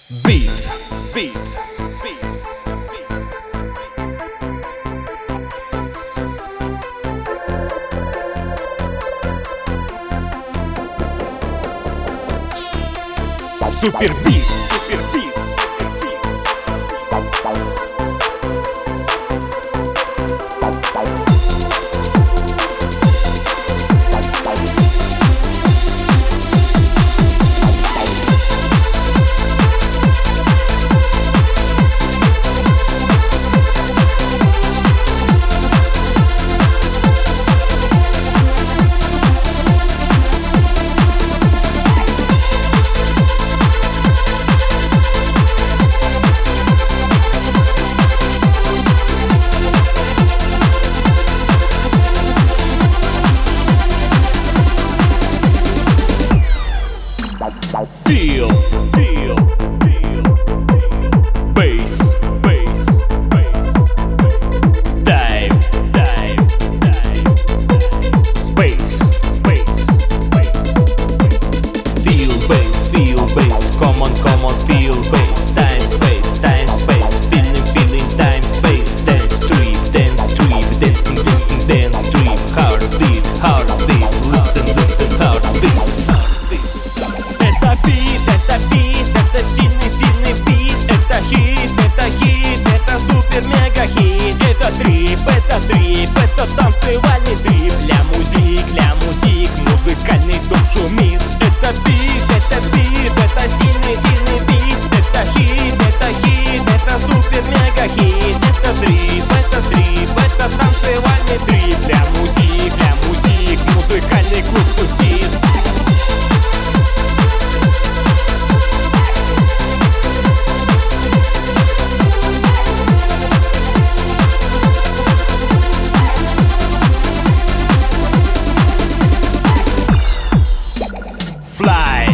Beat, beat, beat, Супер бит, супер бит, Feel, feel, feel, bass, bass, bass, dive, dive, dive, space, space, space. Feel bass, come on, feel bass. Time, space, feeling, time, space. Dance trip, dancing, dance trip. Heartbeat, heartbeat, listen, heartbeat. Это бит, это сильный бит. Это хит, это супер-мега-хит. Это трип, это танцевальный трип. Для музик, музыкальный дом шумит. Это бит, это сильный бит. Это хит, это супер-мега-хит. Это трип, это танцевальный трип. Для музик, музыкальный клуб тусит. Fly,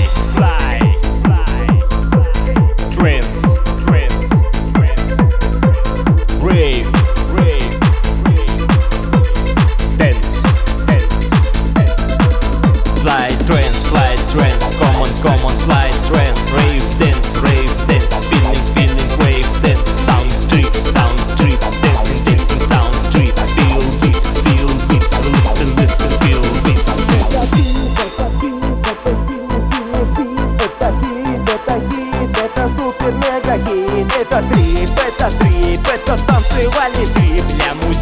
trance, rave, dance, fly, trance, come on, fly, trance, rave, dance, feeling, wave, dance, sound trip, dancing, sound trip, feel beat, listen, feel beat. Это супер-мега-хит. Это трип, это танцевальный трип. Для